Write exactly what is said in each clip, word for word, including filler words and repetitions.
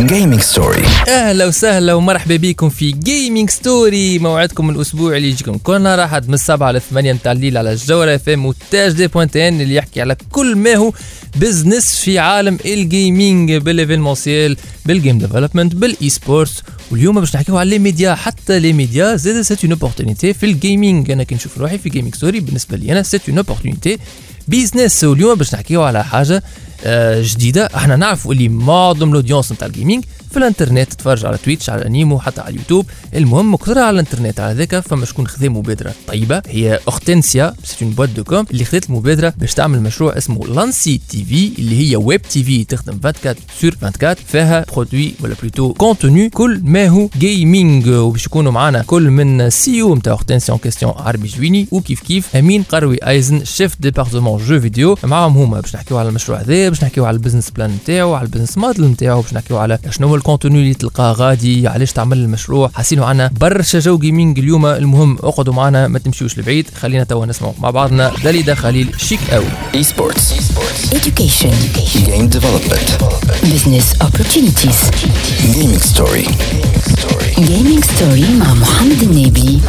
Gaming Story. اهلا وسهلا ومرحبا بكم في Gaming Story، موعدكم الاسبوع اللي يجيكم كل نهار احد من السبعة للثمانية متاع الليل على الجوهرة اف ام وتاج دي بوينت ان اللي يحكي على كل ما هو بزنس في عالم الجيمنج، بالايفينمونسيال، بالجيم ديفلوبمنت، بالاي سبورتس. واليوم باش نحكيو على لي ميديا، حتى لي ميديا زاد سيت اون اوبورتونيتي في الجيمنج. انا كي نشوف روحي في Gaming Story بالنسبه لي انا سيت اون اوبورتونيتي بيزنس. واليوم باش نحكيو على حاجه جديده. احنا نعرفوا اللي معظم الاودينس نتاع الجيمنج في الانترنت، تتفرج على تويتش، على انيمو، حتى على اليوتيوب. المهم كثر على الانترنت على ذاك. فما شكون خذا مبادره طيبه، هي اورتنسيا، سيت اون بوات دو كوم اللي خذت المبادره باش تعمل مشروع اسمه لانسي تي في، اللي هي ويب تي في تخدم أربعة وعشرين سور أربعة وعشرين، فيها برودوي ولا بلوتو كونتوني كل ما هو جيمنج. وباش يكونوا معنا كل من سي او نتاع اورتنسيا اون كيستيون عربي جويني، وكيف كيف امين قروي ايزن شيف ديبارتمون جو فيديو. معاهم هما باش نحكيو على المشروع هذا، باش نحكيو على البزنس بلان نتاعو، على البزنس موديل نتاعو، باش نحكيو على شنو هو الكونتوني اللي تلقاه غادي، علاش تعمل المشروع. حاسينو عنا برشا جو جيمنج اليوم. المهم اقعدوا معنا ما تمشيوش لبعيد، خلينا توا نسمعوا مع بعضنا داليدا خليل شيك قوي. اي سبورتس، education, game development, business opportunities. gaming story. Gaming Story مع محمد النبي.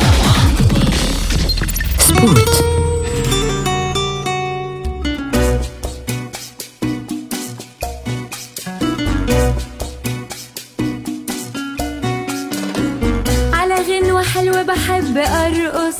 سبورت. على غنوة حلوة بحب أرقص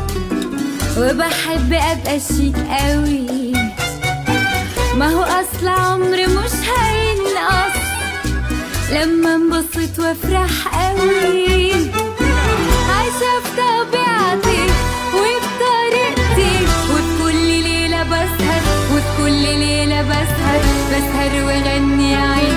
وبحب أبقى شيك قوي، ما هو أصل عمري مش هينقص لما انبسط وافرح قوي. عايشة في طبيعتي وبطريقتي، وفي كل ليلة بسهر، وفي كل ليلة بسهر بسهر وغني عين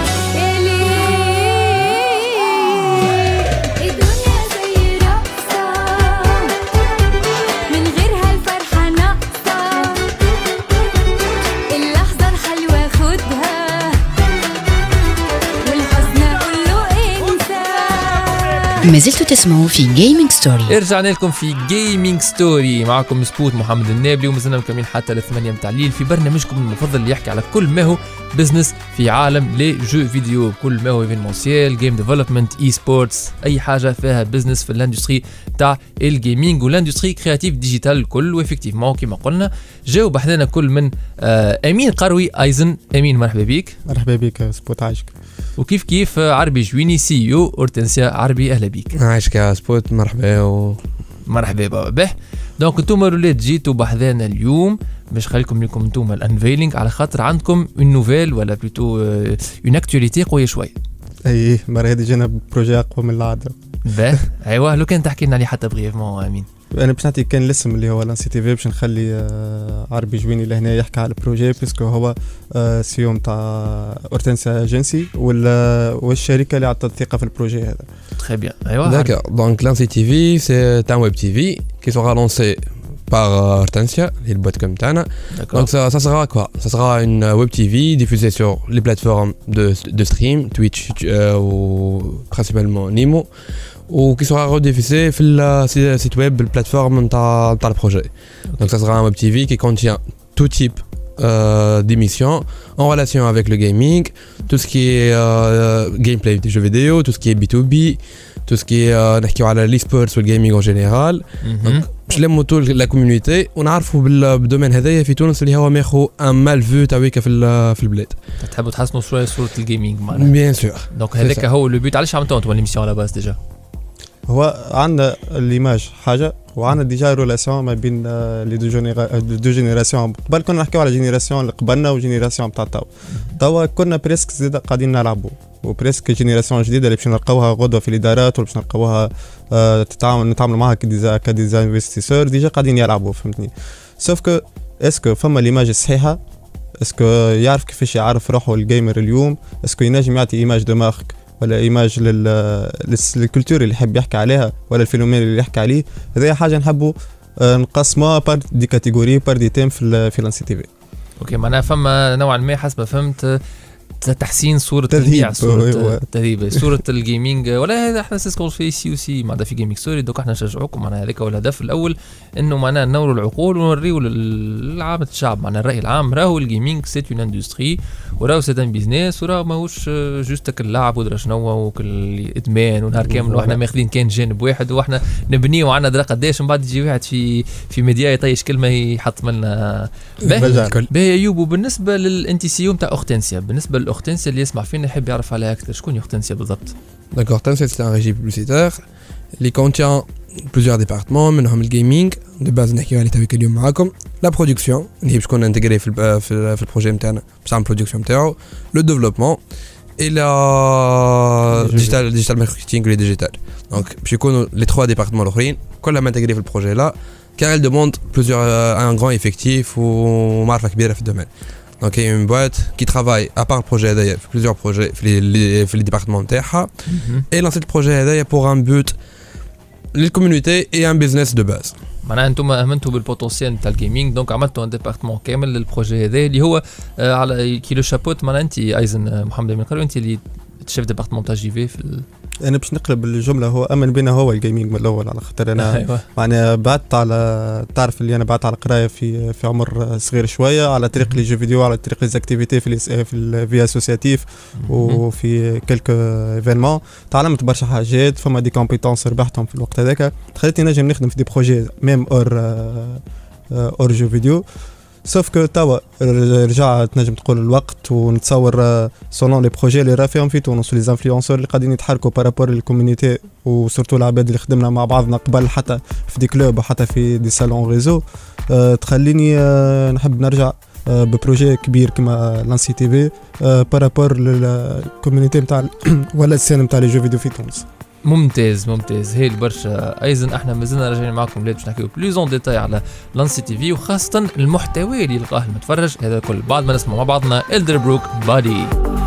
ما زلتوا تسمعوا في Gaming Story. رجعنا لكم في Gaming Story، معكم سبوت محمد النابلي، ومازلنا مكملين حتى للثمانية متاع الليل في برنامجكم المفضل اللي يحكي على كل ما هو بزنس في عالم لي جو فيديو، كل ما هو ايفينمونسيال، جيم ديفلوبمنت، اي سبورتس، اي حاجه فيها بزنس في الاندستري تاع الجيمنج والاندستري كرياتيف ديجيتال الكل. وافكتيفمون كما قلنا جاو بحثنا كل من آه امين قروي ايزن. امين مرحبا بك. مرحبا بك سبوت، عايشك. وكيف كيف عربي جويني سي او اورتنسيا عربي، اهلا بك. عايشك يا سبوت، مرحبا و مرحبا بابا به. دونك انتم الولاد جيتوا بحذانا اليوم باش خليكم لكم انتم الانفيلينغ، على خاطر عندكم اون نوفيل ولا بلوتو اون اكتواليتي قويه شويه. اي المره هذه جينا بروجي اقوى من العاده. به ايوه، لو كان تحكي لنا عليه حتى بريفمون امين. انا باش نعطيك كان الاسم اللي هو لانسي تي في، باش نخلي عربي جويني لهنا يحكي على البروجي، بيسكو هو سيوم تاع اورتنسيا اجنسي والشركه اللي عطت الثقه في البروجي هذا. تري بيان ايوه. داكور، دونك لانسي تي في سي ان ويب تي في qui sera lancé par Hortensia, le boîte comme Tana. Donc ça, ça sera quoi? Ça sera une web T V diffusée sur les plateformes de, de stream, Twitch euh, ou principalement Nimo, ou qui sera rediffusée sur le site web, la plateforme de le projet. Donc ça sera un web T V qui contient tout type euh, d'émissions en relation avec le gaming, tout ce qui est euh, gameplay des jeux vidéo, tout ce qui est B two B, tout ce qui est نحكيو على l'e-sports والgaming en général. Donc باش نلموا طول لا كوميونيتي ونعرفوا بالدومين هذايا في تونس اللي هو ماخو ان مال فيو تاعك في في البلاد. تحبوا تحسنوا شويه صوره الجيمنج معنا؟ بيان سور. دونك هذاك هو لو بيت. علاش عملتوا انتم ليميسيون على باز ديجا؟ هو عندنا ليماج حاجه، وعندنا ديجا ريلاسيون ما بين لي دو جينيرا دو جينيراسيون. قبل كنا نحكيو على جينيراسيون اللي قبلنا وجينيراسيون تاع توا. توا كنا بريسك زيد قاعدين نلعبوا، وبريسك جينيراسيون جديده اللي باش نلقاوها غدوه في الادارات، ولا باش نلقاوها آه تتعامل نتعاملوا معها كديزا كديزا انفستيسور ديجا قاعدين يلعبوا، فهمتني. سوف كو اسكو فما ليماج الصحيحه، اسكو يعرف كيفاش يعرف روحه الجيمر اليوم، اسكو ينجم يعطي ايماج دو مارك ولا ايماج للكولتور اللي يحب يحكي عليها، ولا الفينومين اللي يحكي عليه. هذه حاجه نحبوا نقسموها بار دي كاتيجوري بار دي تيم في في لانسي تي في. اوكي، معناها فما نوعا ما حسب ما فهمت تحسين صورة تذهيب. تبيع صورة أيوة. تذهيب صورة الجيمنج. ولا هذا احنا سيسكول في سي وسي معناتها في جيمنج ستوري. دوك احنا نشجعوكم معناها هذاك هو الهدف الاول، انه معناها ننوروا العقول ونوريوا للعامة الشعب معناها الرأي العام راهو الجيمنج سيت اون اندستري، وراهو سيت ان بيزنس، وراهو ماهوش جوست اللعب ودرا شنو وكل ادمان ونهار كامل واحنا ماخذين كان جانب واحد واحنا نبنيه وعندنا درا قداش، من بعد يجي واحد في في ميديا يطيش كلمه يحط لنا باهي. ايوب وبالنسبه للانتي سي او نتاع اورتنسيا، بالنسبه لاورتنسيا اللي يسمع فينا يحب يعرف عليها اكثر، شكون اورتنسيا بالضبط؟ داكور، اورتنسيا سي ان ريجي بوبليسيتير اللي كونتيان بلوزيور ديبارتمون، منهم الجيمنج دو باز نحكيو عليه تويك اليوم معاكم، لا برودكسيون اللي هي باش تكون انتغري في في في البروجي نتاعنا باش نعمل برودكسيون نتاعو، لو ديفلوبمون الى ديجيتال ديجيتال ماركتينغ لي ديجيتال. دونك باش يكونوا لي ثلاثه ديبارتمون الاخرين كلهم انتغري في البروجي لا، car elle demande plusieurs un grand effectif ou معرفة كبيرة في الدومين. Donc il y a une boîte qui travaille à part le projet d'ailleurs plusieurs projets في les في les départements تاعها et lancer le projet هذايا pour un but للكوميونيتي et un business de base. معناها انتم امنتوا بالبوتنسيال نتاع الجيمنج، دونك عملتوا ان ديبارتمون كامل للبروجي هذا اللي هو آه على كيلو شابوت. معناها انت ايزن محمد امين قالوا انت اللي شيف ديبارتمون تاع جي في في ال... انا باش نقلب الجمله، هو امن بينا هو الجيمنج من الاول، على خاطر انا أيوة. معناها بعدت على تعرف اللي انا بعدت على قرايه في في عمر صغير شويه، على طريق لي جو فيديو، على طريق لي اكتيفيتي في في الفي اسوسياتيف وفي كلكو ايفينمون، تعلمت برشا حاجات، فما دي كومبيتونس ربحتهم في الوقت هذاك، خليتني نجم نخدم في دي بروجي ميم اور اور جو فيديو. سوف كو توا رجع تنجم تقول الوقت ونتصور سولون لي بروجي اللي راه فيهم في تونس ولي انفلونسور اللي قاعدين يتحركوا بارابور للكوميونيتي وسورتو العباد اللي خدمنا مع بعضنا قبل حتى في دي كلوب وحتى في دي سالون ريزو، أه تخليني أه نحب نرجع أه ببروجي كبير كما لانسي تي في أه بارابور للكوميونيتي نتاع ولا السين نتاع لي جو فيديو في تونس. ممتاز ممتاز هي البرشا. ايضا احنا مازلنا راجعين معكم باش نحكيو بلوز اون ديتاي على لانسي تي في وخاصه المحتوى اللي يلقاه المتفرج. هذا كل بعد ما نسمع مع بعضنا إلدربروك بادي.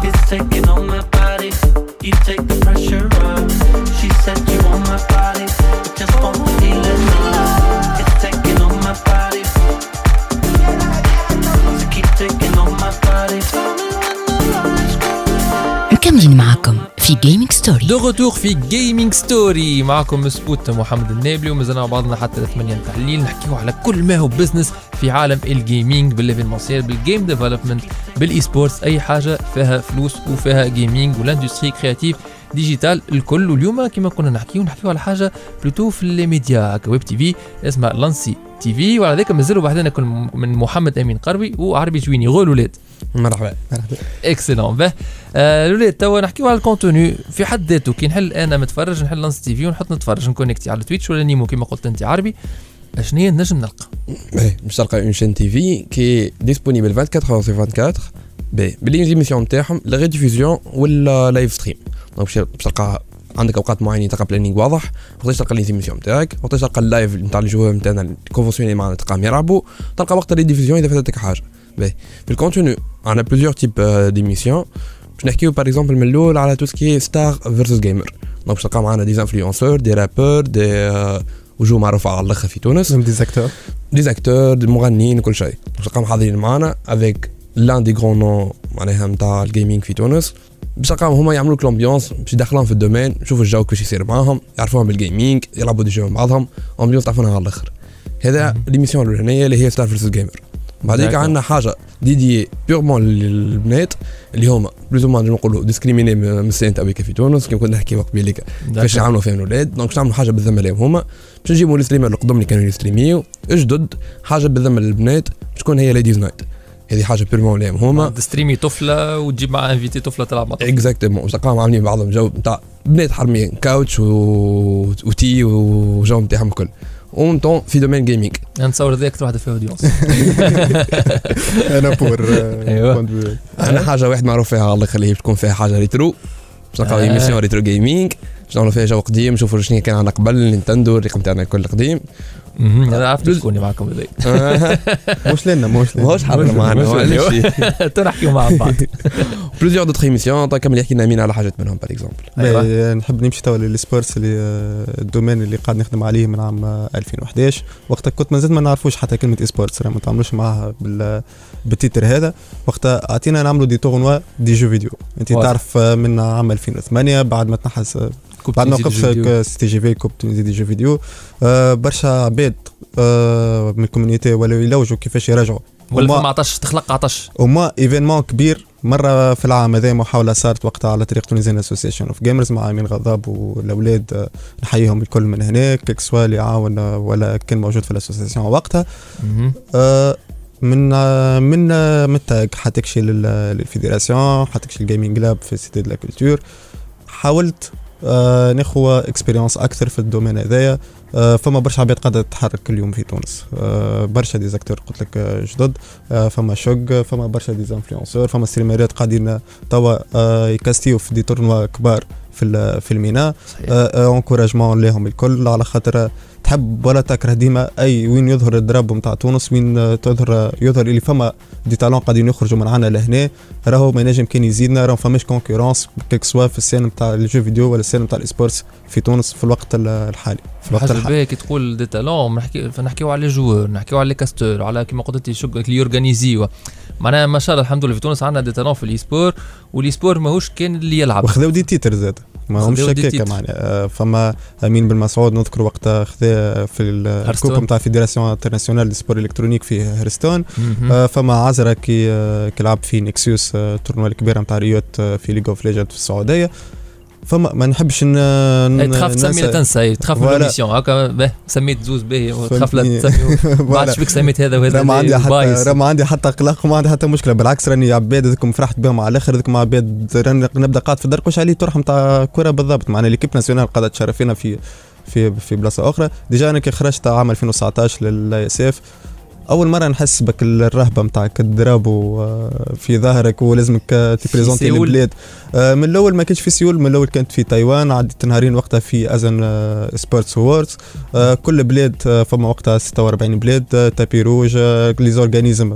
مكملين معكم في جيمنج ستوري. دو غوتور في جيمنج ستوري معكم سبوت محمد النابلي، ومازلنا مع بعضنا حتى ثمانية نتاع الليل نحكيو على كل ما هو بزنس في عالم الجيمنج، بالإيفينمونسيال، بالجيم ديفلوبمنت، بالاي سبورتس، اي حاجه فيها فلوس وفيها جيمنج والاندستري كرياتيف ديجيتال الكل. واليوم كما كنا نحكيو نحكيو على حاجه بلوتو في لي ميديا كويب تي في اسمها لانسي تي في، وعلى ذلك مازالوا بعدنا كل من محمد امين قربي وعربي جويني. غول ولاد مرحبا مرحبا اكسلون. به آه الولاد توا نحكيو على الكونتوني في حد ذاته. كي نحل انا متفرج نحل لانس تي في ونحط نتفرج نكونكتي على تويتش ولا نيمو كما قلت انت عربي، اشنو هي نجم نلقى؟ ايه باش تلقى اون شين تي في كي ديسپونيبل أربعة وعشرين سور أربعة وعشرين باهي باللي زيميسيون نتاعهم لا ريديفوزيون ولا لايف ستريم. دونك باش تلقى عندك اوقات معينه تلقى بلانينغ واضح، وقتاش تلقى لي زيميسيون نتاعك، وقتاش تلقى اللايف نتاع الجوار نتاعنا الكونفونسيوني معنا تلقاهم يلعبوا، تلقى وقت الريديفوزيون اذا فاتتك حاجه. باهي في الكونتوني عندنا بليزيور تيب ديميسيون. باش نحكيو باغ اكزومبل من الاول على تو سكي ستار فيرسس جيمر. دونك باش تلقى معنا دي انفلونسور، دي رابور، دي وجوه معروفه على الاخر في تونس، دي زاكتور دي زاكتور دي مغنيين كل شيء. باش تلقاهم حاضرين معنا افيك لان دي غران نون معناها نتاع الجيمنج في تونس، باش تلقاهم هما يعملوا لك لومبيونس، باش يدخلهم في الدومين، يشوفوا الجو كيفاش يصير معاهم، يعرفوهم بالجيمنج، يلعبوا دي جو مع بعضهم، امبيونس تعرفونها على الاخر. هذا ليميسيون الاولانيه اللي هي ستار فيرسس جيمر. بعديك عندنا حاجه ديدي بيورمون للبنات اللي هما بلوز ما نقولوا ديسكريميني من السين تاع في تونس كيما كنا نحكي وقت بيليك كيفاش يعاملوا فيهم الاولاد. دونك باش نعملوا حاجه بالذمه لهم هما، باش نجيبوا الستريمر القدم اللي كانوا يستريميو اجدد حاجه بالذمه للبنات باش تكون هي ليديز نايت. هذه حاجه بيرمون لهم هما تستريمي طفله وتجيب معها انفيتي طفله تلعب مع طفله اكزاكتومون. تلقاهم عاملين بعضهم جو نتاع بنات حرميين كاوتش و... وتي وجو نتاعهم الكل اون طون في دومين جيمنج. نتصور ذاك واحده فيها اودينس انا بور ايوه انا حاجه واحد معروف فيها الله يخليه تكون فيها حاجه ريترو. باش نلقاو ايميسيون ريترو جيمنج باش نعملوا فيها جو قديم، نشوفوا شنو كان عندنا قبل نينتندو الرقم تاعنا الكل قديم، انا عرفت شكون معكم هذا مش لنا مش لنا ماهوش حاضر معنا معليش تنحكيوا مع بعض. بلوزيور دوتر ايميسيون طيب كمل يحكي لنا مين على حاجات منهم باغ اكزومبل. نحب نمشي توا للسبورتس اللي الدومين اللي قاعد نخدم عليه من عام ألفين وإحدى عشر. وقتها كنت مازلت ما نعرفوش حتى كلمه سبورتس راه ما نتعاملوش معها بال بالتيتر هذا. وقتها اعطينا نعملوا دي تورنوا دي جو فيديو. انت تعرف من عام ألفين وثمانية بعد ما تنحس بعد ما وقف سي جي في كوب تونيزي دي جو فيديو آه برشا عباد آه من الكوميونيتي ولاو يلوجوا كيفاش يراجعوا ولا ما عطش تخلق عطش وما ايفينمون كبير مره في العام هذا. محاوله صارت وقتها على طريق تونيزيان اسوسيشن اوف جيمرز مع امين غضاب والاولاد آه نحييهم الكل من هناك كيك سوا اللي عاون ولا كان موجود في الاسوسيشن وقتها آه من من من تاج حتكشي للفيدراسيون حتكشي الجيمنج لاب في سيتي دو لا كولتور. حاولت آه ناخذ اكسبيرينس اكثر في الدومين هذايا. آه فما برشا عباد قاعده تتحرك كل يوم في تونس. آه برشا ديزاكتور قلت لك جدد. آه فما شوق فما برشا ديزانفلونسور فما ستريمرات قاعدين توا آه يكاستيو في دي تورنوا كبار في في المينا. انكوراجمون لهم الكل على خاطر تحب ولا تكره ديما اي وين يظهر الدراب نتاع تونس وين تظهر يظهر اللي فما دي تالون قاعدين يخرجوا من عنا لهنا. راهو ما ينجم كان يزيدنا راهو فماش كونكورونس كيك سوا في السين نتاع الجو فيديو ولا السين نتاع الاسبورتس في تونس في الوقت الحالي. في الوقت الحالي كي تقول دي تالون نحكي نحكيو على جوور نحكيو على كاستور على كيما قلت لي شغل اللي يورغانيزيو معناها ما شاء الله الحمد لله في تونس عندنا دي تالون في الايسبور والايسبور ماهوش كان اللي يلعب وخذوا دي تيتر زاد ما همش هكاك معناها. فما امين بن مسعود نذكر وقتها خذا في الكوب نتاع فيدراسيون انترناسيونال دي سبور الكترونيك في هرستون. فما عزرا كي كلعب في نيكسيوس التورنوا الكبيره نتاع ريوت في ليج اوف ليجند في السعوديه. فما ما نحبش ن تخاف تسمي لا تنسى تخاف من الميسيون هكا سميت زوز باهي وتخاف لا تسمي ما عادش بك سميت هذا وهذا. ما عندي حتى راه ما عندي حتى قلق وما عندي حتى مشكله بالعكس راني عباد هذوكم فرحت بهم على الاخر هذوكم عباد راني نبدا قاعد في الدرك واش عليه تروح نتاع كره بالضبط معنا ليكيب ناسيونال قاعده تشرف فينا في في في بلاصه اخرى. ديجا انا كي خرجت عام ألفين وتسعطاش للاي اس اف اول مره نحس بك الرهبه نتاعك الضرب في ظهرك ولازمك تبريزونتي البلاد. من الاول ما كانش في سيول من الاول كانت في تايوان عدت نهارين وقتها في ازن سبورتس ووردز. كل بلاد فما وقتها ستة وأربعين بلاد تابي روج لي زورغانيزم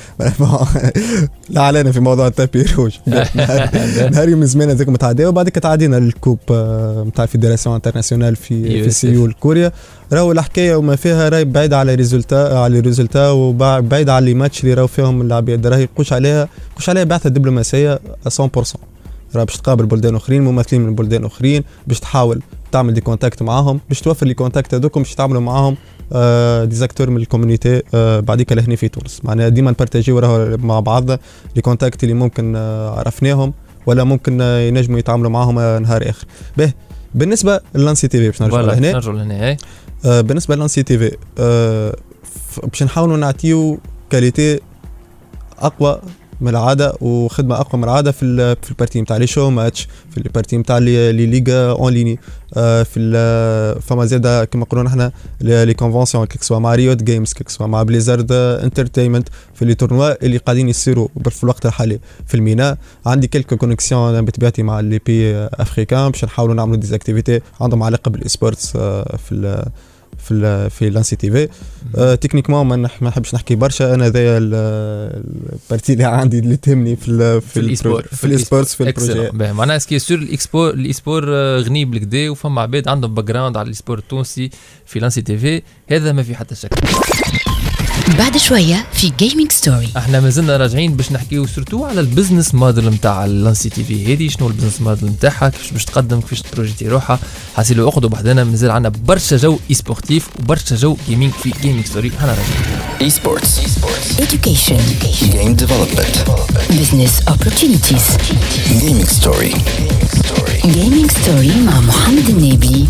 لا علينا في موضوع التابي روج نهاري من زمان هذاك متعدي وبعد كده تعدينا الكوب نتاع الفيدراسيون انترناسيونال في في سيول كوريا. راهو الحكايه وما فيها راهي بعيد على ريزولتا على ريزولتا وبعيد على لي ماتش اللي راهو فيهم العباد راهي يقوش عليها يقوش عليها بعثه دبلوماسيه مية بالمية. راه باش تقابل بلدان اخرين ممثلين من بلدان اخرين باش تحاول تعمل دي كونتاكت معاهم باش توفر لي كونتاكت هذوكم باش تعملوا معاهم آه ديزاكتور من الكوميونيتي آه بعديك لهنا في تونس. معناها ديما نبارتاجيو راهو مع بعضنا لي كونتاكت اللي ممكن آه عرفناهم ولا ممكن آه ينجموا يتعاملوا معاهم آه نهار اخر. به بالنسبه للانسي تي في باش نرجعوا لهنا نرجعوا لهنا آه بالنسبه للانسي تي في آه باش نحاولوا نعطيو كاليتي اقوى من العاده وخدمه اقوى من العاده في في البارتي نتاع لي شو ماتش في البارتي نتاع لي ليغا اون ليني في فما زاده كما نقولوا نحن لي كونفونسيون كيك سوا مع ريوت جيمز كيك سوا مع بليزارد انترتينمنت في لي تورنوا اللي قاعدين يصيروا في الوقت الحالي في المينا. عندي كلكو كونيكسيون بطبيعتي مع لي بي افريكان باش نحاولوا نعملوا ديزاكتيفيتي عندهم علاقه بالسبورتس في في في لانسي تي في. أه تكنيكمون ما نحبش نحكي برشا انا هذايا البارتي اللي عندي اللي تهمني في في الايسبور في الايسبورتس في البروجي معناها سكي سور الاكسبور الايسبور غني بالكدا وفما عباد عندهم باك جراوند على الايسبور التونسي في لانسي تي في هذا ما في حتى شك. بعد شويه في جيمنج ستوري احنا مازلنا راجعين باش نحكيو سورتو على البزنس موديل نتاع لانسي تي في هذه شنو البزنس موديل نتاعها كيفاش باش تقدم كيفاش تبروجيتي روحها. حاسيلو اخذوا بحذنا مازال عندنا برشا جو اي سبورتيف وبرشا جو جيمنج في جيمنج ستوري. انا راجعين اي سبورتس education game development business opportunities gaming story gaming story مع محمد النبي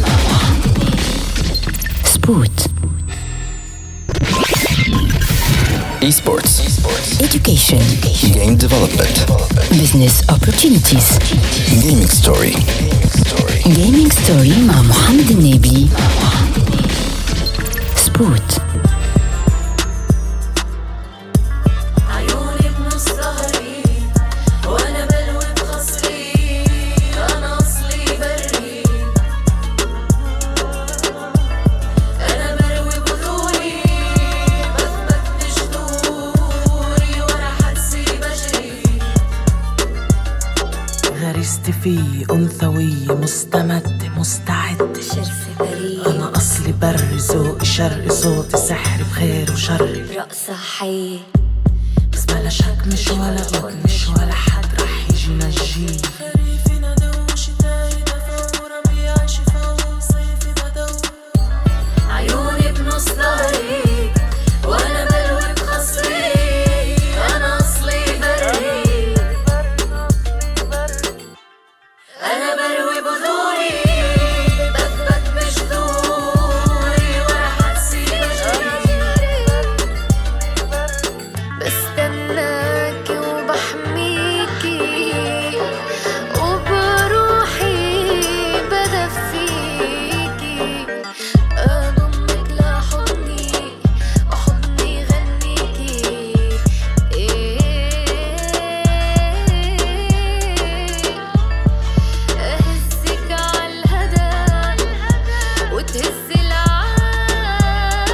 سبوت esports education game development business opportunities gaming story gaming story مع محمد النبي سبوت. غريزتي فيه أنثوية مستمدة مستعدة شرسي بريء أنا أصلي بري ذوقي شرقي صوتي سحري بخير وشري رقصة حية بس بلا شك مش ولا بد مش ولا حد رح يجي نجيه خريفي ندى وشتاي دفا وربيع شفا وصيفي بدو عيوني بنص ظهري وانا بلوي بخصري انا اصلي بري انا بروي بذوري بثبت بجذوري ولا حدسي بجري بستناكي وبحميكي وبروحي بدفيكي أضمك لحضني وحضني غنيكي أهزك عالهدى وتهز العالم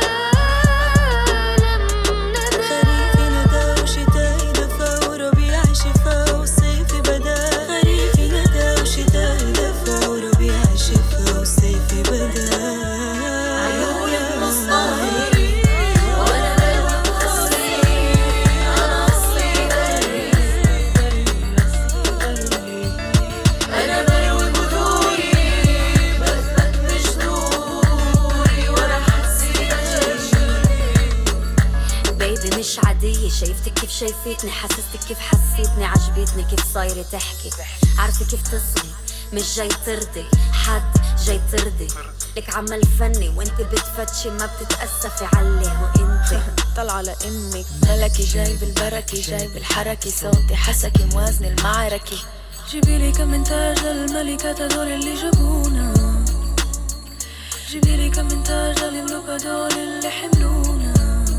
ندى خريفي ندى وشتاي دفا وربيع شفا وصيفي بدا خريفي ندى وشتاي دفا وربيع شفا وصيفي بدا عيوني بنص ظهري وانا بلوي بخصري انا اصلي بري انا بروي بذوري بثبت بجذوري ولا حدسي بجري بيبي مش عادية شايفتك كيف شايفتني حسستك كيف حسيتني عجبتني كيف صايرة تحكي عارفة كيف تصغي مش جاي ترضي حد جاي ترضي لك عمل فني وانت بتفتشي ما بتتأسفي عليه وانت طلع لأمك ملكي جاي بالبركة جاي بالحركة صوتي حسكي موازن المعركة جيبيلي كم من تاج للملكة دول اللي جابونا جيبيلي كم من تاج للملوكة دول اللي حملونا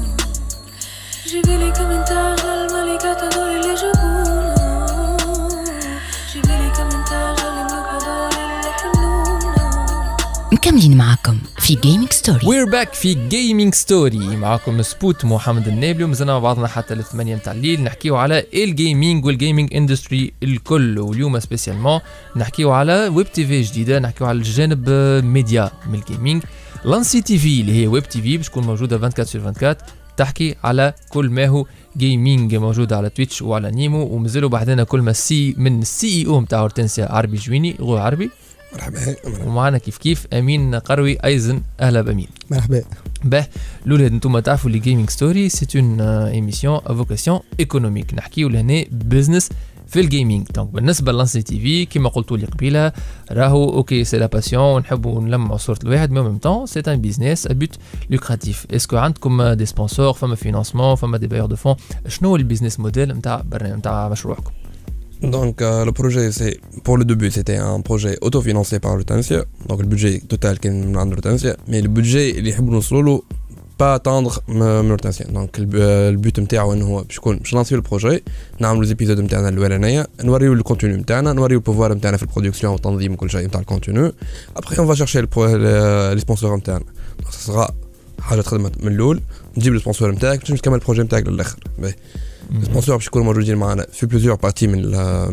جيبيلي كم من تاج للملكة دول اللي جابونا جيبيلي كم من تاج للملوكة دول اللي حملونا مكملين معكم في جيمنج ستوري. وير باك في جيمنج ستوري معكم سبوت محمد النابلي ومازلنا مع بعضنا حتى الثمانية متاع الليل نحكيو على الجيمنج والجيمنج اندستري الكل واليوم سبيسيالمون نحكيو على ويب تي في جديدة نحكيو على الجانب ميديا من الجيمنج لانسي تي في اللي هي ويب تي في باش تكون موجودة أربعة وعشرين سور أربعة وعشرين تحكي على كل ما هو جيمنج موجودة على تويتش وعلى نيمو ومازالوا بعدنا كل ما السي من السي اي او نتاع هورتنسيا عربي جويني غو عربي مرحبا ومعنا كيف كيف امين قروي ايزن. اهلا بامين. مرحبا. باه الاولاد انتم تعرفوا لي جيمنج ستوري سي اون ايميسيون ا فوكاسيون ايكونوميك نحكيو لهنا بزنس في الجيمنج. دونك بالنسبه للانسي تي في كيما قلتوا لي قبيله راهو اوكي سي لا باسيون ونحبوا نلمعوا صوره الواحد مي ميم طون سي ان بيزنس ا بوت لوكراتيف. اسكو عندكم دي سبونسور فما فينانسمون فما دي بايور دو فون شنو هو البيزنس موديل نتاع برنامج نتاع مشروعكم؟ Donc euh, le projet, c'est pour le début, c'était un projet autofinancé par Hortensia. Donc le budget total qui est de Hortensia, mais le budget اللي يحبوا نوصلوا له pas attendre من Hortensia. Donc le but نتاعو انه هو باش يكون باش نلانسيو البروجي نعملوا زيبيزود نتاعنا الاولانيه نوريو الكونتوني نتاعنا نوريو البوفوار نتاعنا في البرودكسيون والتنظيم وكل شيء نتاع الكونتوني. ابري اون فا شيرشي لي سبونسور نتاعنا. دونك سا حاجه تخدمت من الاول نجيب السبونسور نتاعك باش تكمل البروجي نتاعك للاخر. السبونسور باش يكونوا موجودين معنا في بليزيور بارتي من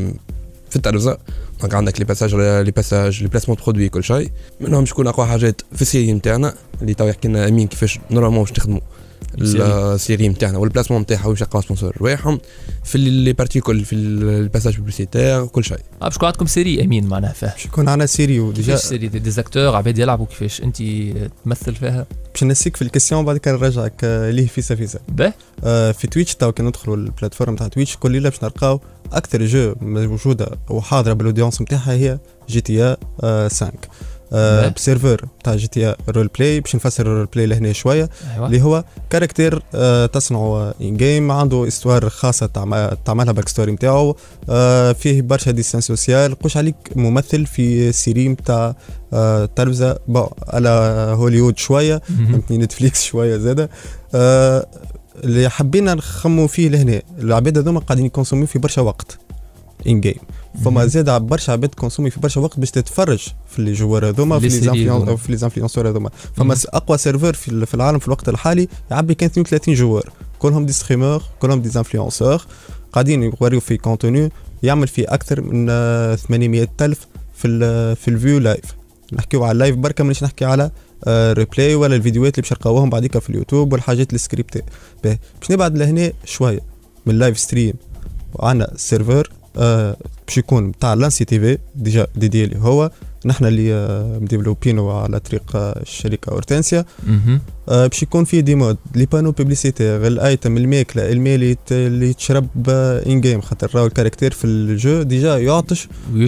في التلفزه. دونك عندك لي باساج لي باساج لي بلاسمون برودوي كل شيء منهم باش يكون اقوى حاجات في السيري نتاعنا اللي تو يحكي لنا امين كيفاش نورمالمون باش نخدموا السيري نتاعنا والبلاسمون نتاعها واش يلقاو سبونسور رواحهم في لي بارتي كل في الباساج بوبليسيتير كل شيء. اه باش يكون عندكم سيري امين معناها فيها باش يكون عندنا سيري وديجا سيري دي زاكتور عباد يلعبوا كيفاش انت تمثل فيها باش نسيك في الكيسيون بعد كان نرجعك ليه فيسا فيسا. باه آه في تويتش تو كي ندخلوا البلاتفورم تاع تويتش كل ليله باش نلقاو اكثر جو موجوده وحاضره بالاودينس نتاعها هي جي تي اي خمسة آه بسيرفر تاع جي تي اي رول بلاي. باش نفسر الرول بلاي لهنا شويه أيوة. اللي هو كاركتير آه تصنعه ان جيم عنده استوار خاصه تعملها باك ستوري نتاعو آه فيه برشا ديستانس سوسيال قوش عليك ممثل في سيري نتاع آه تلفزه بون على هوليوود شويه فهمتني نتفليكس شويه زاده آه اللي حبينا نخمو فيه لهنا. العباد هذوما قاعدين يكونسوميو في برشا وقت ان جيم فما زاد برشا عباد كونسومي في برشا وقت باش تتفرج في اللي جوار هذوما في لي زانفلونسور في لي زانفلونسور هذوما. فما اقوى سيرفر في, في العالم في الوقت الحالي يعبي كان اثنين وثلاثين جوار كلهم دي ستريمر كلهم دي زانفلونسور قاعدين يوريو في كونتوني يعمل فيه اكثر من ثمانمائة ألف في ال في الفيو لايف. نحكيو على اللايف بركه، مانيش نحكي على ريبلاي ولا الفيديوهات اللي باش نلقاوهم بعديك في اليوتيوب والحاجات السكريبتي. باش نبعد لهنا شويه من اللايف ستريم، وعندنا سيرفر آه باش يكون تاع لانسي تي في ديجا ديدي اللي هو نحن اللي آه مديفلوبينو على طريق آه الشركه اورتنسيا. آه باش يكون فيه دي مود لي بانو بوبليسيتير، الايتم، الماكله، الماء اللي تشرب آه ان جيم، خاطر راهو الكاركتير في الجو ديجا يعطش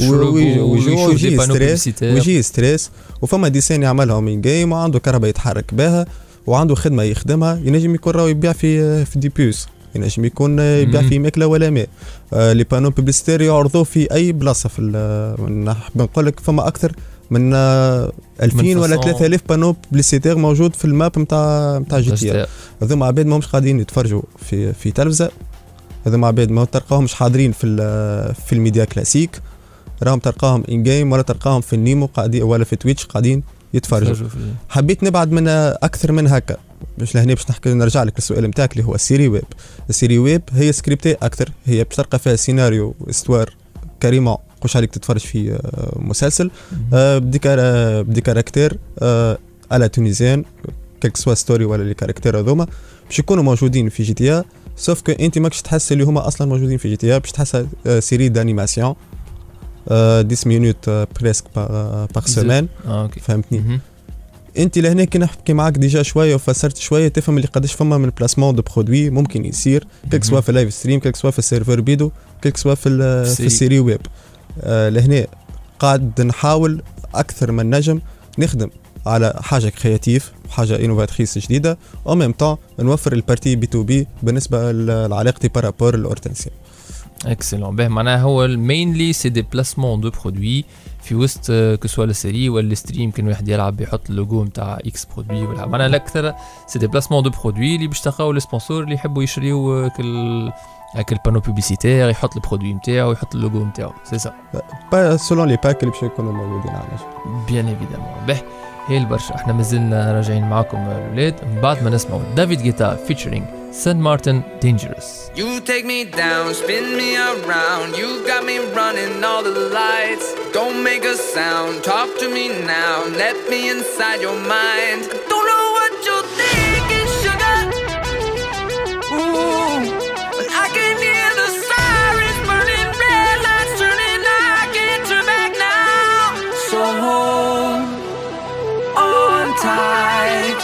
ويجي ستريس ويجي ستريس وفما ديسين يعملهم ان جيم، وعنده كهرباء يتحرك بها وعنده خدمه يخدمها. ينجم يكون راهو يبيع في في دي بيوس، ينجم يكون يبيع في ماكله ولا ماء. آه لي بانو بوبليسيتير يعرضوه في اي بلاصه في نحب نقول لك فما اكثر من آه ألفين ولا ثلاثة آلاف بانو بوبليسيتير موجود في الماب نتاع نتاع جي تي اي. هذوما عباد ماهمش قاعدين يتفرجوا في في تلفزه، هذوما عباد ما تلقاهمش حاضرين في في الميديا كلاسيك، راهم تلقاهم ان جيم ولا تلقاهم في النيمو قاعدين ولا في تويتش قاعدين يتفرجوا. حبيت نبعد من اكثر من هكا باش لهنا باش نحكي نرجع لك للسؤال نتاعك اللي هو السيري ويب. السيري ويب هي سكريبتي اكثر، هي باش تلقى فيها سيناريو استوار كريمون قوش عليك تتفرج في مسلسل بديكار بديكاركتير على تونيزيان كيك سوا ستوري ولا لي كاركتير هذوما باش يكونوا موجودين في جي تي اي، سوف كو انت ماكش تحس اللي هما اصلا موجودين في جي تي اي، باش تحسها سيري دانيماسيون عشرة مينوت بريسك باغ سيمين. فهمتني؟ انت لهنا كي نحكي معاك ديجا شويه وفسرت شويه تفهم اللي قداش فما من بلاسمون دو برودوي ممكن يصير كيك سوا في اللايف ستريم، كيك سوا في السيرفر بيدو، كيك سوا في في السيري ويب. آه لهنا قاعد نحاول اكثر من نجم نخدم على حاجه كرياتيف وحاجه انوفاتريس جديده، او ميم طون نوفر البارتي بي تو بي بالنسبه لعلاقتي بارابور الاورتنسيا. اكسلون. به معناها هو المينلي سي دي بلاسمون دو برودوي في وسط كو سوا السيري ولا الستريم، كان واحد يلعب يحط اللوجو نتاع اكس برودوي ولا معناها الاكثر سي دي بلاسمون دو برودوي اللي باش تلقاو لي سبونسور اللي يحبوا يشريو كل هاك البانو بوبليسيتير، يحط البرودوي نتاعو يحط اللوجو نتاعو. سي سا با سولون لي باك اللي باش يكونوا موجودين عندنا بيان ايفيدامون. به هي البرشا احنا مازلنا راجعين معاكم الاولاد من بعد ما نسمعوا دافيد غيتا فيتشرينج سان مارتن دينجرس. You take me down, spin me around, you got me running all the lights. Don't make a sound, talk to me now, let me inside your mind. Don't know what you're thinking, sugar. Ooh, but I can hear the sirens burning, red lights turning, I can't turn back now. So hold on tight.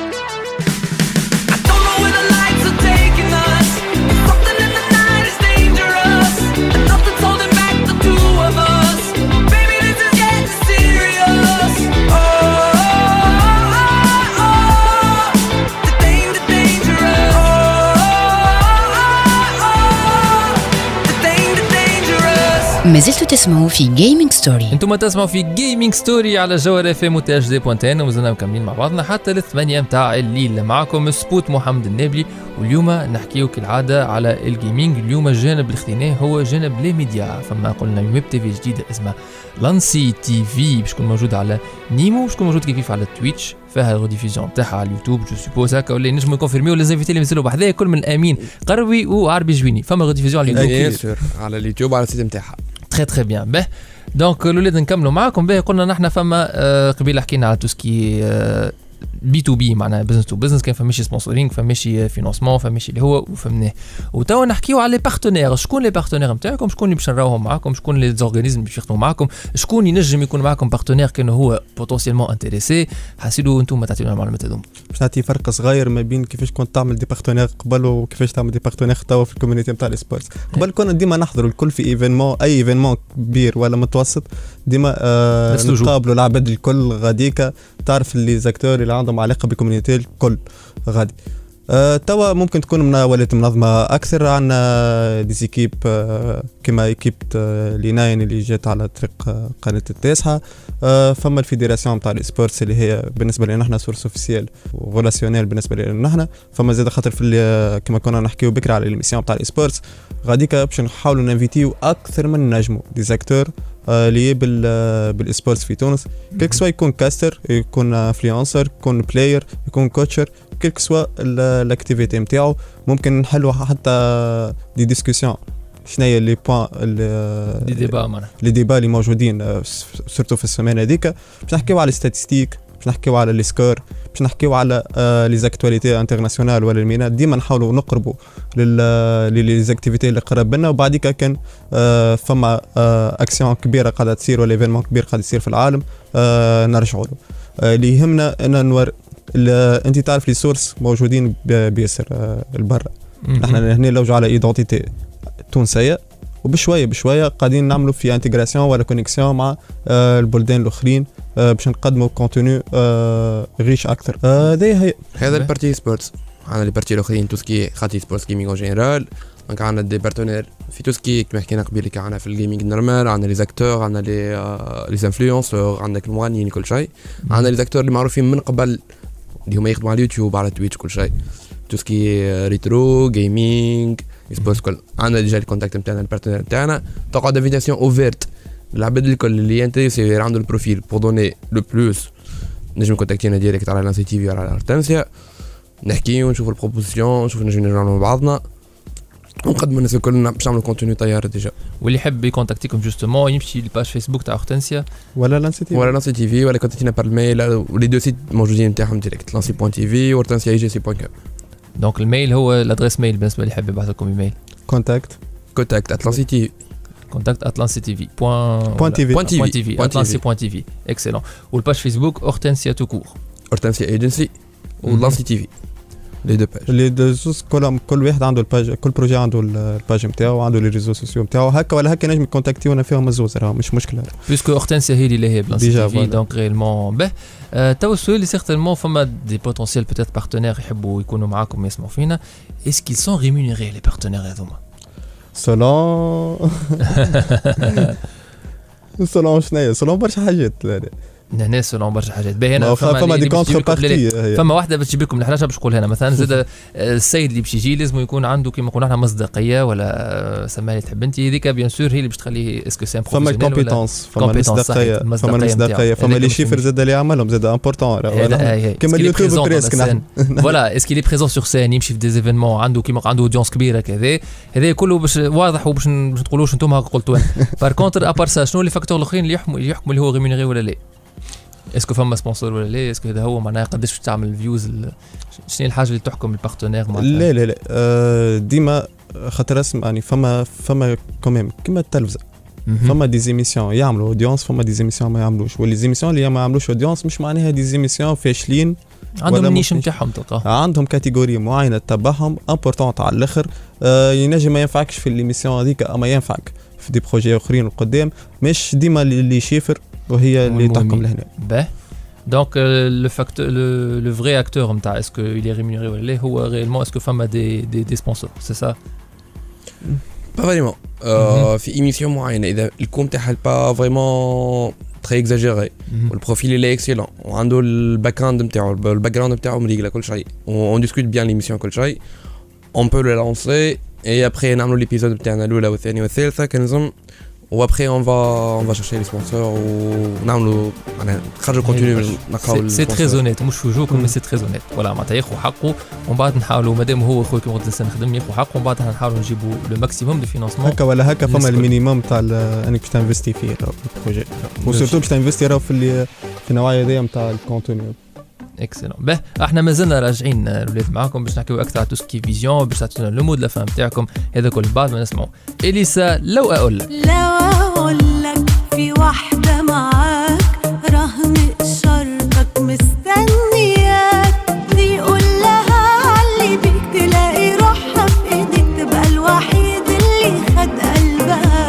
ما زلتوا تسمعوا في جيمنج ستوري. انتم تسمعوا في جيمنج ستوري على جوهر اف ام وتاج دي بوينت ان، ومازلنا مكملين مع بعضنا حتى الثمانية متاع الليل. معكم سبوت محمد النابلي، واليوم نحكيو كالعاده على الجيمنج. اليوم الجانب اللي خديناه هو جانب لي ميديا. فما قلنا ويب تي في جديده اسمها لانسي تي في باش تكون موجوده على نيمو، باش تكون موجود كيف على تويتش، فيها ريديفيزيون تاعها على اليوتيوب جو سوبوز هكا، ولا نجموا يكونفيرميو لي زانفيتي اللي مازالوا بحذايا كل من امين قروي وعربي جويني. فما ريديفيزيون على اليوتيوب على اليوتيوب على السيت نتاعها. تري تري بيان. به دونك الاولاد نكملوا معاكم. به قلنا نحن فما آه قبيل حكينا على توسكي آه بي تو بي معناها بزنس تو بزنس، كان فماشي سبونسورينغ فماشي فينانسمون فماشي اللي هو وفهمناه. وتوا نحكيو على لي بارتنير. شكون لي بارتنير نتاعكم؟ شكون اللي باش نراوهم معاكم؟ شكون لي زورغانيزم باش يخدموا معاكم؟ شكون ينجم يكون معاكم بارتنير كان هو بوتونسيلمون انتريسي؟ حاسيلو انتم تعطيونا المعلومات هذوما. باش نعطي فرق صغير ما بين كيفاش كنت تعمل دي بارتنير قبل وكيفاش تعمل دي بارتنير توا في الكوميونيتي نتاع السبورت. قبل كنا ديما نحضروا الكل في ايفينمون، اي ايفينمون كبير ولا متوسط، ديما آه نقابلوا العباد الكل غاديكا، تعرف اللي زاكتور اللي عندهم علاقه بالكوميونيتي الكل غادي. أه توا ممكن تكون من ولات منظمه اكثر. عندنا دي زيكيب أه كما ايكيب أه ليناين اللي جات على طريق أه قناه التاسعه. أه فما الفيدراسيون تاع السبورتس اللي هي بالنسبه لنا نحن سورس اوفيسيال وريلاسيونيل بالنسبه لنا نحن. فما زاد خاطر في كما كنا نحكيو بكره على الميسيون تاع السبورتس غاديك باش نحاولوا نانفيتيو اكثر من نجموا دي زاكتور اللي بال بالسبورتس في تونس، كيك سوا يكون كاستر، يكون انفلونسر، يكون بلاير، يكون كوتشر، كيك سوا الاكتيفيتي نتاعو. ممكن نحلوا حتى دي ديسكوسيون شنو هي لي بوين دي ديبا معنا لي ديبا اللي موجودين سورتو في السيمانه هذيك. باش نحكيو على الستاتستيك، باش نحكيو على لي سكور، باش نحكيو على لي زاكتواليتي انترناسيونال ولا المينات. ديما نحاولوا نقربوا لي زاكتيفيتي اللي قرب لنا، وبعديك كان فما اكسيون كبيره قاعده تصير ولا ايفينمون كبير قاعد يصير في العالم نرجعوا له. اللي يهمنا ان نور انت تعرف لي سورس موجودين بياسر البرة. نحن هنا لوجو على ايدونتيتي تونسيه، وبشويه بشويه قاعدين نعملوا في انتجراسيون ولا كونيكسيون مع البلدان الاخرين باش نقدموا كونتوني ريش اكثر. هذه هي هذا البارتي سبورتس. عندنا لي بارتي الاخرين توسكي خاطي سبورتس جيمنج اون جينيرال. دونك عندنا دي بارتنير في توسكي كما حكينا قبيل، كي عندنا في الجيمنج نورمال، عندنا لي زاكتور، عندنا لي لي انفلونسور، عندك المغنيين كل شيء. عندنا لي زاكتور اللي معروفين من قبل اللي هما يخدموا على اليوتيوب على تويتش كل شيء، توسكي ريترو جيمنج سبورتس كل. عندنا ديجا الكونتاكت نتاعنا البارتنير نتاعنا، تقعد انفيتاسيون اوفيرت العباد الكل اللي انتريسي عنده البروفيل بور دوني لو بلوس نجم كونتاكتينا ديريكت على لانسي تي في ولا على ارتنسيا، نحكيو ونشوفوا البروبوزيسيون، نشوفوا نجم نرجعوا مع بعضنا ونقدموا الناس الكل باش نعملوا كونتوني طيار ديجا. واللي يحب يكونتاكتيكم جوستومون يمشي للباج فيسبوك تاع اورتنسيا ولا لانسي تي في ولا لانسي تي في ولا كونتاكتينا بار الميل، ولي دو سيت موجودين نتاعهم ديريكت لانسي بوان تي في وارتنسيا اي جي سي بوان كوم. دونك الميل هو الادريس ميل بالنسبه اللي يحب يبعث لكم ايميل كونتاكت كونتاكت اتلانسي تي في كونتاكت اتلانسي تي في بوان بوان تي في بوان تي في اتلانسي بوان تي في. اكسلون. والباج فيسبوك اورتنسيا تو كور اورتنسيا ايجنسي ولانسي تي في لي دو باج لي دو زوز كل كل واحد عنده الباج، كل بروجي عنده الباج نتاعو وعنده لي ريزو سوسيو نتاعو هكا ولا هكا نجم كونتاكتيونا فيهم الزوز راه مش مشكله بيسكو اورتنسيا هي اللي هي بلانسي تي في. دونك ريلمون به تو السؤال اللي سيغتيرمون فما دي بوتونسيال بوتيت بارتنير يحبوا يكونوا معاكم يسمعوا فينا. اس كيل سون ريمونيري لي بارتنير هذوما سولون سولون شنو سولون برشا حاجات هنا سولون برشا حاجات باهي. هنا فما دي كونتر بارتي، فما واحده باش تجيب لكم الحاجه باش نقول هنا مثلا زاد السيد اللي باش يجي لازم يكون عنده كيما نقولوا احنا مصداقيه ولا سماها تحب انت هذيك بيان سور هي اللي باش تخليه اسكو سي فما كومبيتونس فما مصداقيه فما مصداقيه فما لي شيفر زاد اللي يعملهم زاد امبورطون كيما اليوتيوب بريسك فوالا اسكي لي بريزون سور سين يمشي في دي ايفينمون عنده كيما عنده اودينس كبيره كذا هذا كله باش واضح وباش ما تقولوش انتم هكا قلتوا. بار كونتر ابار سا شنو لي فاكتور الاخرين اللي يحكموا يحكموا اللي هو ريمونيري ولا لا؟ اسكو فما سبونسور ولا لا؟ اسكو هذا هو معناها قداش باش تعمل فيوز؟ شنو الحاجه اللي تحكم البارتنير معناتها؟ لا لا لا ديما خاطر اسم يعني فما فما كوميم كيما التلفزه فما دي زيميسيون يعملوا اودينس فما دي زيميسيون ما يعملوش، واللي زيميسيون اللي ما يعملوش اودينس مش معناها دي زيميسيون فاشلين عندهم النيش نتاعهم تلقاه عندهم كاتيجوري معينه تتبعهم امبورطون على الاخر. آه ينجم ما ينفعكش في ليميسيون هذيك اما ينفعك في دي بروجي اخرين القدام مش ديما اللي شيفر وهي اللي تحكم لهنا. باه دونك لو فاكتور لو فري اكتور نتاع اسكو il est rémunéré ولا لا هو ريلمون اسكو فما دي دي دي سبونسور سي سا با فريمون في ايميسيون معينه اذا الكوم تاعها با فريمون تري اكزاجيري والبروفيل اللي اكسيلون وعنده الباك جراوند نتاعو الباك جراوند نتاعو مريقله كل شيء اون ديسكوت بيان ليميسيون كل شيء اون بو لو لانسي اي ابري نعملوا ليبيزود نتاعنا الاولى والثانيه والثالثه كنظن وابري اون فا اون فا شيرشي لي سبونسور ونعملوا معناها نخرجوا كونتوني نلقاو سي تري زونيت مش في جوكم مي سي تري زونيت ولا معناتها ياخذ حقه ومن بعد نحاولوا مادام هو خويا كيما قلت لسه نخدم ياخذ حقه ومن بعد نحاولوا نجيبوا لو ماكسيموم دو فينانسمون هكا ولا هكا فما المينيموم تاع انك باش تنفستي فيه البروجي وسورتو باش تنفستي راهو في في النوعيه هذيا نتاع الكونتوني. اكسلون. به احنا مازلنا راجعين الاولاد معاكم باش نحكيو اكثر على توسكي فيزيون باش تعطونا لو مود لا فام تاعكم هذا كل بعد ما نسمعوا اليسا. لو اقول لك لو اقول لك في واحده معاك رهن شرطك مستنياك دي قول لها علي بيك تلاقي روحها في ايديك تبقى الوحيد اللي خد قلبها.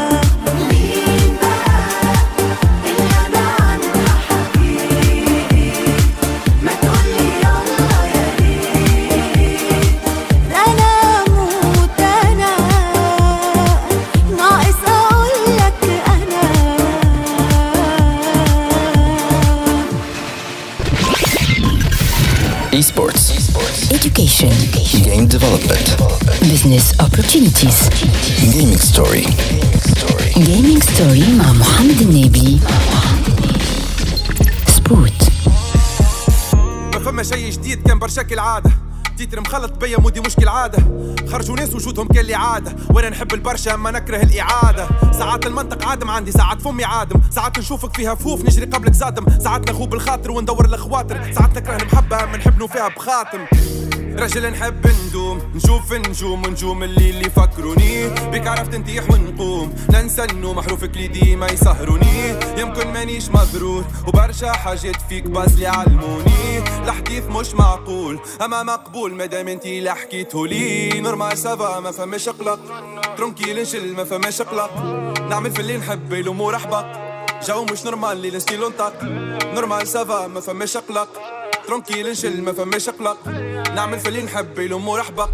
Esports. Education. Game development. Business opportunities. Gaming story. Gaming story مع محمد النبي. سبوت. ما فما شيء جديد كان برشاك العادة تيتر مخلط بيا مودي مشكل عادة خرجوا ناس وجودهم كان لي عادة وانا نحب البرشا اما نكره الاعادة ساعات المنطق عادم عندي ساعات فمي عادم ساعات نشوفك فيها فوف نجري قبلك زادم ساعات نخوب الخاطر وندور الخواطر ساعات نكره المحبة من نحب فيها بخاتم رجل نحب ندوم نشوف النجوم ونجوم اللي اللي فكروني بك عرفت نتيح ونقوم ننسى النوم حروفك لي ديما يسهروني يمكن مانيش مضرور وبرشا حاجات فيك باز لي علموني الحديث مش معقول اما مقبول مادام انتي اللي حكيتهولي نورمال سافا ما فماش قلق ترونكيل نشل ما فماش قلق نعمل في اللي نحب الامور احبق جو مش نورمال لي نستيلو نطق نورمال سافا ما فماش قلق ترونكيل نشل ما فماش قلق نعمل في اللي نحب الامور احبق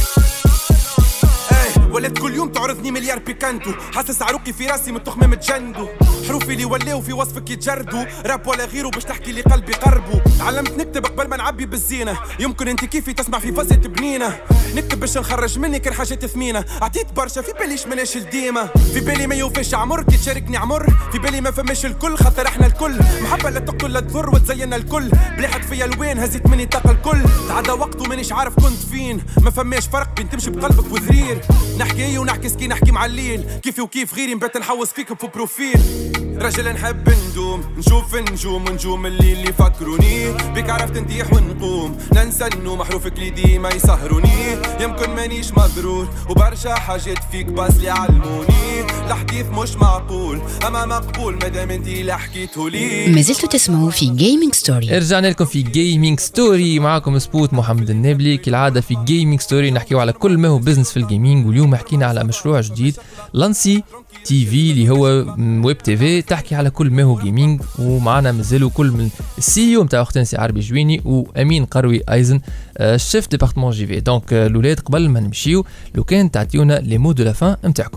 ولات كل يوم تعرضني مليار بيكانتو حاسس عروقي في راسي من تخمة متجندو حروفي اللي ولاو في وصفك يتجردوا راب ولا غيره باش تحكي لي قلبي قربو تعلمت نكتب قبل ما نعبي بالزينة يمكن انت كيفي تسمع في فزة بنينة نكتب باش نخرج مني كان حاجات ثمينة عطيت برشا في باليش مناش الديمة في بالي ما يوفيش عمر كي تشاركني عمر في بالي ما فماش الكل خاطر احنا الكل محبة لا تقتل لا تضر وتزينا الكل بليحت فيا الوين هزيت مني طاقة الكل تعدى وقت ومانيش عارف كنت فين ما فماش فرق بين تمشي بقلبك وذرير نحكي ونحكي سكي نحكي مع الليل كيفي وكيف غيري نبات نحوس فيك في بروفيل رجل نحب ندوم نشوف النجوم ونجوم اللي اللي فكروني بك عرفت نتيح ونقوم ننسى النوم حروفك لي ديما يسهروني يمكن مانيش مضرور وبرشا حاجات فيك باز لي علموني الحديث مش معقول اما مقبول مادام انتي اللي حكيتهولي. ما زلتوا تسمعوا في جيمنج ستوري. رجعنا لكم في جيمنج ستوري معكم سبوت محمد النابلي كالعاده. في جيمنج ستوري نحكيو على كل ما هو بزنس في الجيمنج واليوم حكينا على مشروع جديد لانسي تي في اللي هو ويب تي في تحكي على كل ما هو جيمنج ومعنا مازالوا كل من السي او نتاع اختنسي عربي جويني وامين قروي ايزن الشيف ديبارتمون جي في. دونك الاولاد قبل ما نمشيو لو كان تعطيونا لي مو دو لا فان نتاعكم.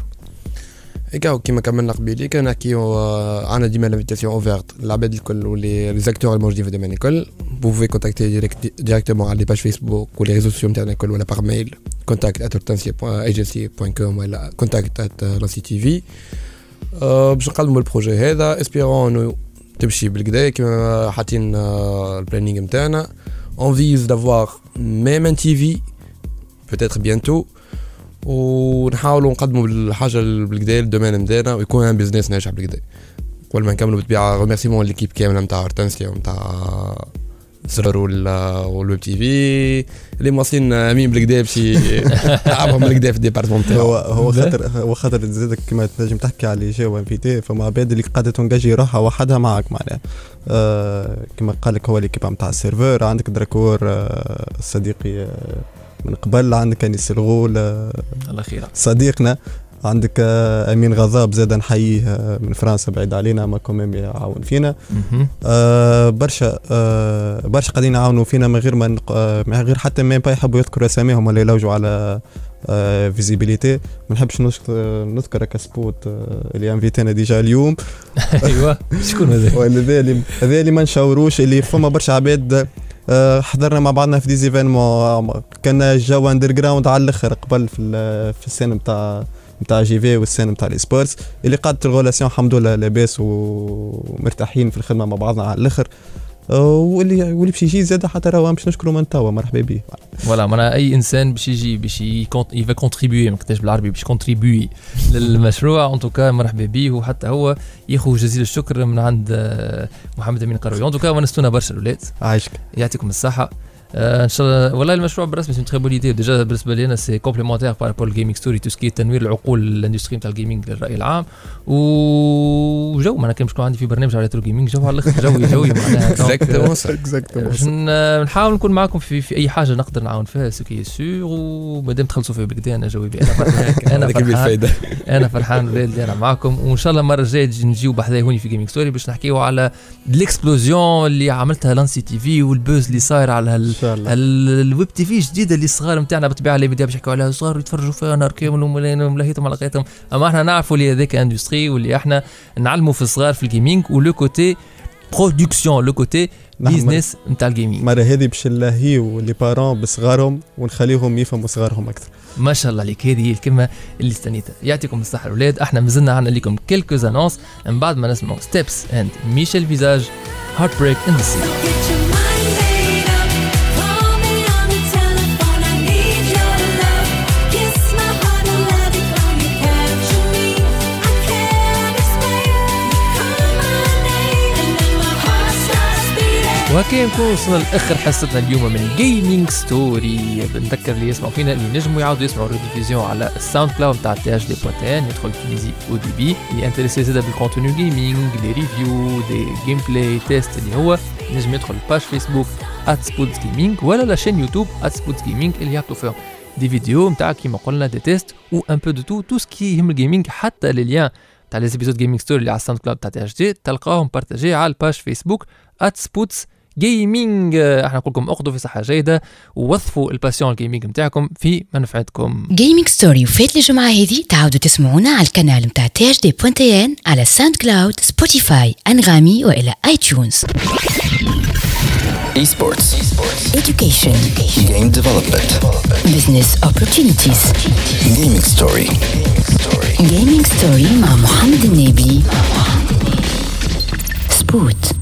ايكاو كيما كملنا قبيلي كان نحكيو عندنا ديما لافيتاسيون اوفيرت العباد الكل واللي لي زاكتور الموجودين في الدومين الكل بوفي كونتاكتي ديريكت ديريكتومون على لي باج فيسبوك ولي ريزو سوسيو نتاعنا الكل ولا باغ ميل contact at hortensia point agency point com ولا contact at lancy تي في باش نقدموا البروجي هذا اسبيرون انه تمشي بالكدا كيما حاطين البلانينغ نتاعنا اون فيز دافوار ميم ان تي في peut-être bientôt ونحاولوا نقدموا الحاجه بالكدا الدومين نتاعنا ويكون ان بيزنس ناجح بالكدا. قبل ما نكملوا بالطبيعه ريميرسيمون ليكيب كامله نتاع هورتنسيا ونتاع سرر والويب تي في اللي مواصلين امين بالكدا باش يلعبهم بالكدا في الديبارتمون تاعو. هو هو خاطر هو خاطر زادك كما تنجم تحكي على جو انفيتي فما عباد اللي قاعده تنجي روحها وحدها معك معناها آه كما قال لك هو ليكيب نتاع السيرفر عندك دراكور آه صديقي آه من قبل عندك انيس الغول آه الله خير صديقنا عندك امين غضاب زاد نحييه من فرنسا بعيد علينا ما كوميم يعاون فينا آه برشا آه برشا قاعدين يعاونوا فينا من غير ما آه من غير حتى ما يحبوا يذكروا اساميهم ولا يلوجوا على آه فيزيبيليتي. ما نحبش نذكر كسبوت آه اللي انفيتينا ديجا اليوم. ايوه شكون هذا؟ هذا اللي هذا اللي ما نشاوروش اللي فما برشا عباد آه حضرنا مع بعضنا في ديزيفينمون كان الجو اندر جراوند على الاخر قبل في في السنه نتاع نتاع جي في والسين نتاع لي سبورتس اللي قادت الغولاسيون الحمد لله لاباس ومرتاحين في الخدمه مع بعضنا على الاخر واللي واللي باش يجي زاد حتى راهو باش نشكروا من توا مرحبا به. فوالا معناها اي انسان باش يجي باش يفا كونتريبيوي ما كنتش بالعربي باش كونتريبيوي للمشروع ان توكا مرحبا به وحتى هو ياخذ جزيل الشكر من عند محمد امين قروي. ان توكا ونستونا برشا الاولاد عايشك يعطيكم الصحه. آه ان شاء الله والله المشروع بالرسمي سي تري بون ايدي ديجا بالنسبه لي انا سي كومبليمونتير بارابور الجيمنج ستوري تو سكي تنوير العقول الاندستري نتاع الجيمنج للراي العام وجو ما انا كان باش عندي في برنامج على ريترو جيمنج جو على الاخر جوي جوي معناها اكزاكتومون نحاول نكون معكم في في اي حاجه نقدر نعاون فيها سكي سور ومادام تخلصوا فيا بالكدا انا جوي انا انا فرحان انا فرحان ولاد اللي انا معكم وان شاء الله المره الجايه نجيو بحذايا هوني في جيمنج ستوري باش نحكيو على الاكسبلوزيون اللي عملتها لانسي تي في والبوز اللي صاير على الويب تي في جديده اللي الصغار نتاعنا بالطبيعه اللي بداو يحكوا عليها صغار يتفرجوا فيها نهار كامل وملاهيتهم على قيتهم اما احنا نعرفوا اللي هذاك اندستري واللي احنا نعلموا في الصغار في الجيمنج ولو كوتي برودكسيون لو كوتي بيزنس نتاع الجيمنج. مره هذه باش نلاهيو لي بارون بصغارهم ونخليهم يفهموا صغارهم اكثر. ما شاء الله عليك هذه هي الكلمه اللي استنيتها. يعطيكم الصحه الاولاد. احنا مازلنا عندنا لكم كيلكوز انونس من بعد ما نسمعوا ستيبس اند ميشيل فيزاج هارت بريك ان ذا سي. وهكا نكون وصلنا لاخر حصتنا اليوم من جيمنج ستوري. بنذكر اللي يسمعوا فينا اللي نجموا يعاودوا يسمعوا الريديفيزيون على الساوند كلاود تاع تي اش دي بوان تي ان. يدخل تونيزي او دي بي اللي انتريسي زاده بالكونتوني جيمنج، لي ريفيو، دي جيم بلاي تيست، اللي هو نجم يدخل الباج فيسبوك @سبوتس جيمنج ولا لا شين يوتيوب @سبوتس جيمنج اللي يحطوا فيهم دي فيديو نتاع كيما قلنا دي تيست و ان بو دو تو تو سكي يهم الجيمنج. حتى لي ليان تاع لي زيبيزود جيمنج ستوري اللي على الساوند كلاود تاع تي اش دي تلقاهم بارتاجي على الباج فيسبوك @سبوتس جيمنج. احنا نقول لكم اخذوا في صحه جيده ووظفوا الباسيون الجيمنج نتاعكم في منفعتكم. جيمنج ستوري وفات الجمعه هذه تعاودوا تسمعونا على القناه نتاع تي اش دي بوان تي ان على ساوند كلاود، سبوتيفاي، انغامي والى اي تيونز. Esports. Education. Game development. Business opportunities. Gaming story. Gaming story مع محمد النبي. سبوت.